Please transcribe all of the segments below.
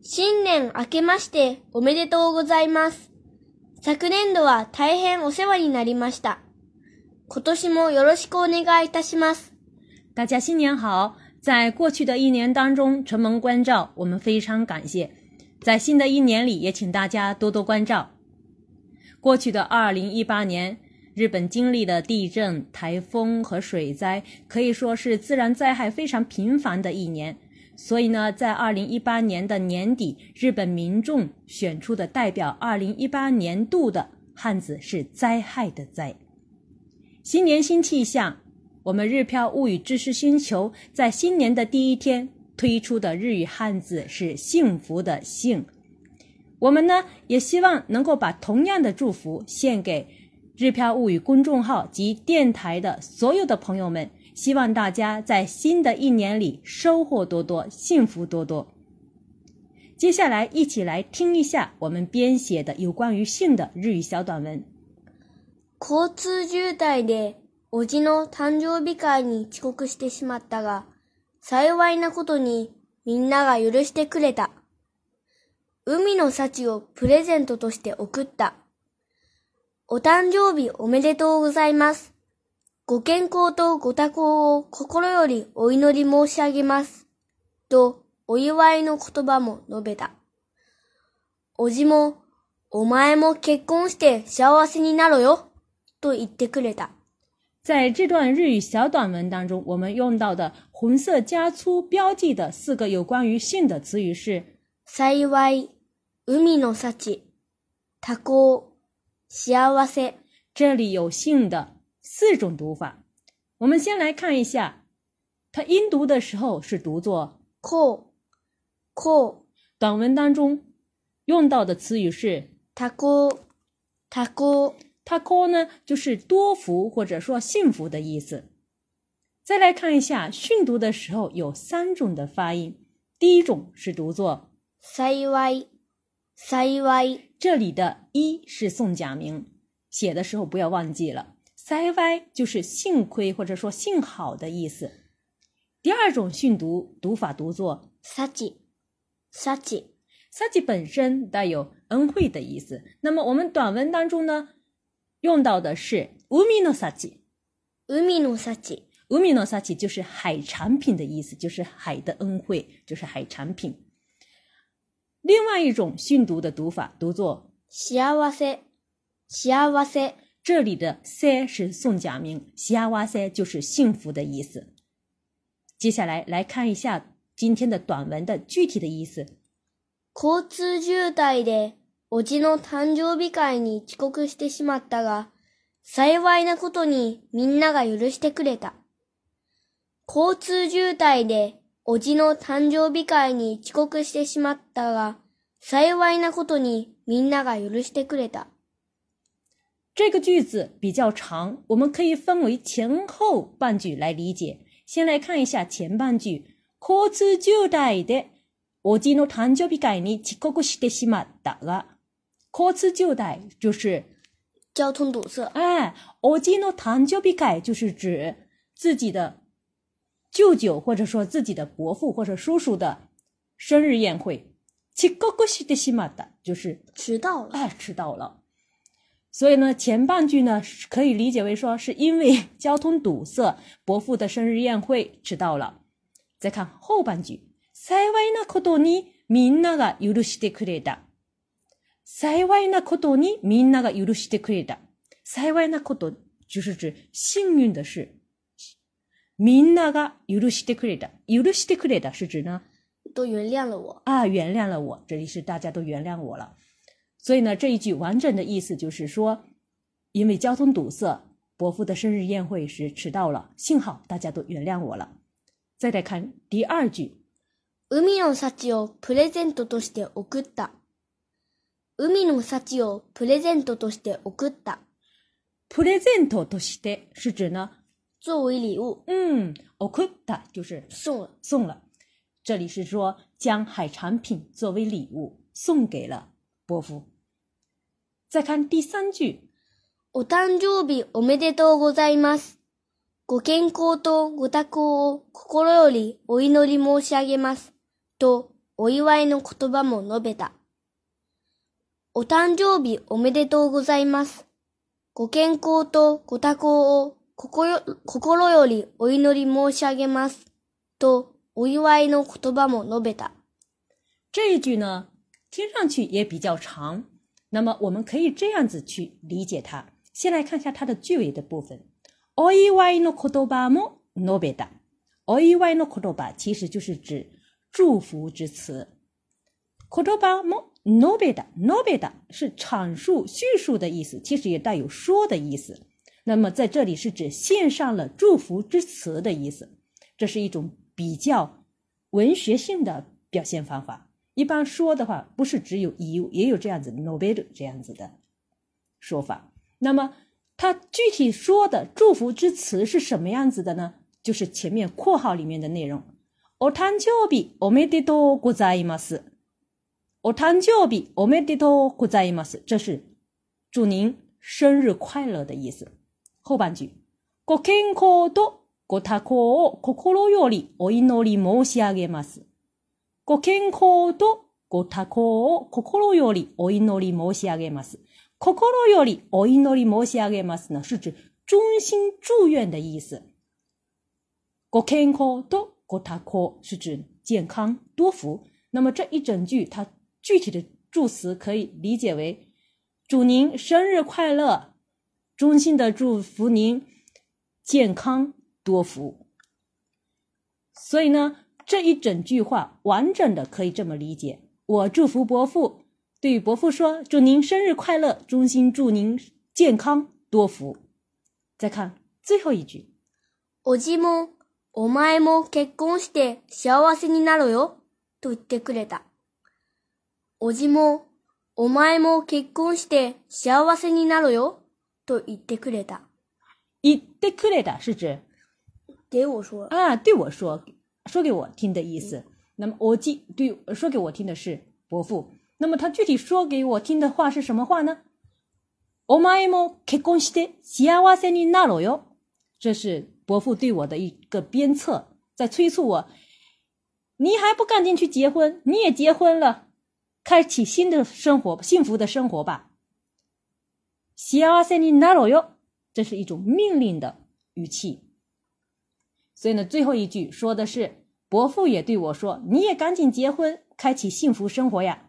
新年明けましておめでとうございます。昨年度は大変お世話になりました。今年もよろしくお願いいたします。 大家新年好！在过去的一年当中承蒙关照，我们非常感谢。在新的一年里，也请大家多多关照。过去的2018年，日本经历了地震、台风和水灾，可以说是自然灾害非常频繁的一年。所以呢，在2018年的年底，日本民众选出的代表2018年度的汉字是灾害的灾。新年新气象，我们日漂物语知识星球在新年的第一天推出的日语汉字是幸福的幸。我们呢也希望能够把同样的祝福献给日漂物语公众号及电台的所有的朋友们，希望大家在新的一年里收获多多，幸福多多。接下来一起来听一下我们编写的有关于幸的日语小短文。 交通渋滞でおじの誕生日会に遅刻してしまったが、幸いなことにみんなが許してくれた。海の幸をプレゼントとして送った。お誕生日おめでとうございます。ご健康とご多幸を心よりお祈り申し上げます。とお祝いの言葉も述べた。おじも、お前も結婚して幸せになろよ。と言ってくれた。 在这段日语小短文当中，我们用到的红色加粗标记的4个有关于幸的词语是幸い、海の幸、多幸、幸せ。 这里有幸的4种读法。我们先来看一下，它音读的时候是读作こう。 短文当中用到的词语是多幸。 多幸呢，就是多福或者說幸福的意思。再来看一下，训讀的時候有3種的發音。第一種是讀作幸い。 這裡的一是送假名，寫的時候不要忘記了。幸い就是幸虧或者說幸好的意思。第二種訓讀法讀作幸本身帶有恩惠的意思。那麼我們短文當中呢，用到的是海の幸。 海の幸就是海產品的意思，就是海的恩惠，就是海產品。另外一種訓讀的讀法讀作幸せ。 這裡的せ是送假名，幸せ就是幸福的意思。接下來來看一下今天的短文的具體的意思。 交通渋滞でおじの誕生日会に遅刻してしまったが、幸いなことにみんなが許してくれた。交通渋滞でおじの誕生日会に遅刻してしまったが、幸いなことにみんなが許してくれた。 这个句子比较长，我们可以分为前后半句来理解。先来看一下前半句。交通渋滞でおじの誕生日会に遅刻してしまったが、交通渋滞就是交通堵塞。 おじの誕生日会就是指自己的舅舅或者说自己的伯父或者叔叔的生日宴会。遅刻してしまった就是迟到了。 所以呢，前半句呢可以理解为说是因为交通堵塞，伯父的生日宴会迟到了。再看后半句。幸いなことにみんなが許してくれた。幸いなことにみんなが許してくれた。幸いなこと就是指幸運的事。みんなが許してくれた。許してくれた是指呢都原谅了我。 原谅了我，这里是大家都原谅我了。所以呢，这一句完整的意思就是说，因为交通堵塞，伯父的生日宴会时迟到了，幸好大家都原谅我了。再来看第二句。 海の幸をプレゼントとして送った。海の幸をプレゼントとして送った。 プレゼントとして是指呢作为礼物。 送った就是送了。 这里是说将海产品作为礼物送给了伯父。再看第三句。 お誕生日おめでとうございます。ご健康とご多幸を心よりお祈り申し上げます。とお祝いの言葉も述べた。お誕生日おめでとうございます。ご健康とご多幸を心よりお祈り申し上げます。と、お祝いの言葉も述べた。 这一句呢，听上去也比较长，那么我们可以这样子去理解它。先来看一下它的句尾的部分。お祝いの言葉も述べた。お祝いの言葉其实就是指祝福之词。言葉も述べた，述べた是阐述、叙述的意思，其实也带有说的意思。那么在这里是指献上了祝福之词的意思，这是一种比较文学性的表现方法。一般说的话，不是只有也有这样子述べる这样子的说法。那么它具体说的祝福之词是什么样子的呢？就是前面括号里面的内容。お誕生日おめでとうございます。お誕生日おめでとうございます。这是祝您生日快乐的意思。后半句。ご健康とご多幸を心よりお祈り申し上げます。ご健康とご多幸を心よりお祈り申し上げます。心よりお祈り申し上げます呢，是指衷心祝愿的意思。ご健康とご多幸是指健康多福。那么这一整句它具体的祝词可以理解为祝您生日快乐，衷心的祝福您健康多福。所以呢，这一整句话完整的可以这么理解。我祝福伯父，对于伯父说，祝您生日快乐，衷心祝您健康多福。再看最后一句。 おじも、お前も結婚して幸せになろよ、と言ってくれた。おじも、お前も結婚して幸せになろよ、と言ってくれた。 言ってくれた是指给我说啊，对我说给我听的意思。那么おじ对说给我听的是伯父。那么他具体说给我听的话是什么话呢？お前も結婚して幸せになろよ。这是伯父对我的一个鞭策，在催促我，你还不赶紧去结婚，你也结婚了，开启新的生活，幸福的生活吧。幸せになろよ，这是一种命令的语气。所以呢，最后一句说的是伯父也对我说，你也赶紧结婚，开启幸福生活呀。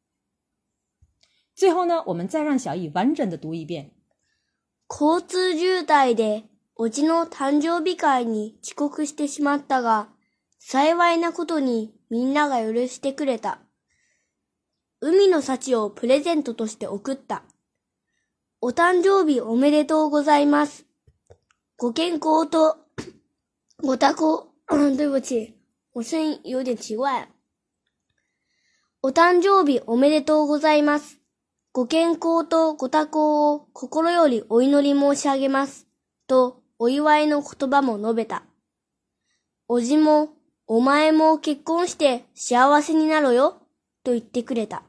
最后呢，我们再让小易完整的读一遍。 交通渋滞でおじの誕生日会に遅刻してしまったが、幸いなことにみんなが許してくれた。海の幸をプレゼントとして送った。お誕生日おめでとうございます。ご健康とご多幸对不起，我声音有点奇怪。お誕生日おめでとうございます。ご健康とご多幸を心よりお祈り申し上げます。と、お祝いの言葉も述べた。おじも、お前も結婚して幸せになろよ、と言ってくれた。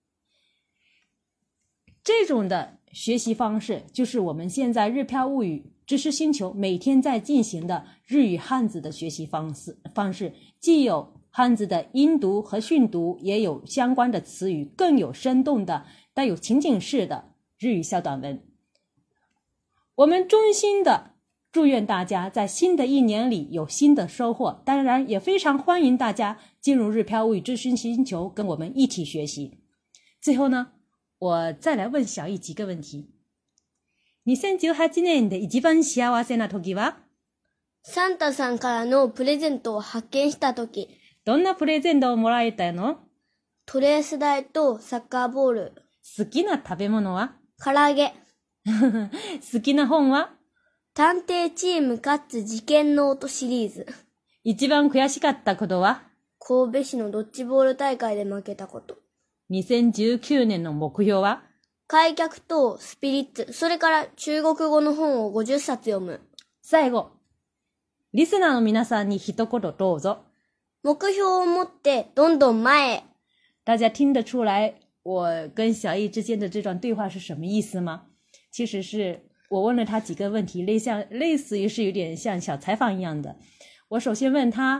这种的学习方式就是我们现在日漂物语知识星球每天在进行的日语汉字的学习方式，既有汉字的音读和训读，也有相关的词语，更有生动的带有情景式的日语小短文。我们衷心的祝愿大家在新的一年里有新的收获，当然也非常欢迎大家进入日漂物语知识星球跟我们一起学习。最后呢，我再来问小易几个问题。2018年で一番幸せな時は？ サンタさんからのプレゼントを発見した時。 どんなプレゼントをもらえたの？ トレース台とサッカーボール。 好きな食べ物は？ 唐揚げ。 好きな本は？ 探偵チームかつ事件ノートシリーズ。 一番悔しかったことは？ 神戸市のドッジボール大会で負けたこと。 2019年の目標は？ 開脚とスピリッツ、それから中国語の本を50冊読む。 最後、リスナーの皆さんに一言どうぞ。 目標を持ってどんどん前へ。 大家听得出来我跟小易之间的这段对话是什么意思吗？其实是我问了他几个问题，类似于是有点像小采访一样的。我首先问他，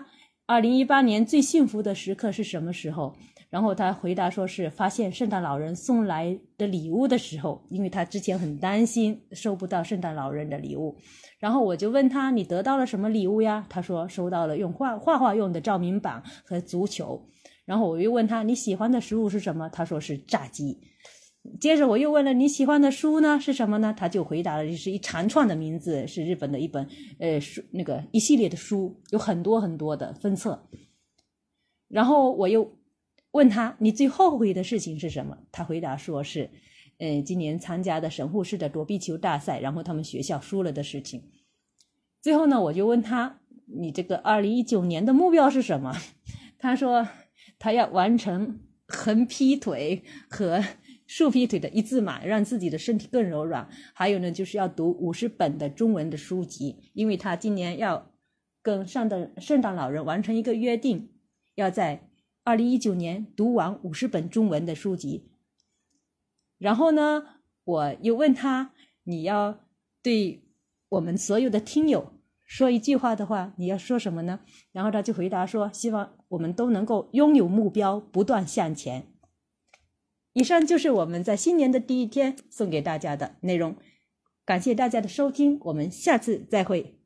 2018年最幸福的时刻是什么时候？然后他回答说是发现圣诞老人送来的礼物的时候，因为他之前很担心收不到圣诞老人的礼物。然后我就问他，你得到了什么礼物呀？他说收到了用画画用的照明板和足球。然后我又问他，你喜欢的食物是什么？他说是炸鸡。接着我又问了，你喜欢的书呢是什么呢？他就回答了，是一长串的名字，是日本的一本书，那个一系列的书，有很多很多的分册。然后我又问他，你最后悔的事情是什么？他回答说是今年参加的神户市的躲避球大赛，然后他们学校输了的事情。最后呢，我就问他，你这个2019年的目标是什么？他说他要完成横劈腿和竖劈腿的一字马，让自己的身体更柔软。还有呢，就是要读50本的中文的书籍，因为他今年要跟圣诞老人完成一个约定，要在2019年读完50本中文的书籍。然后呢，我又问他，你要对我们所有的听友说一句话的话，你要说什么呢？然后他就回答说，希望我们都能够拥有目标，不断向前。以上就是我们在新年的第一天送给大家的内容，感谢大家的收听，我们下次再会。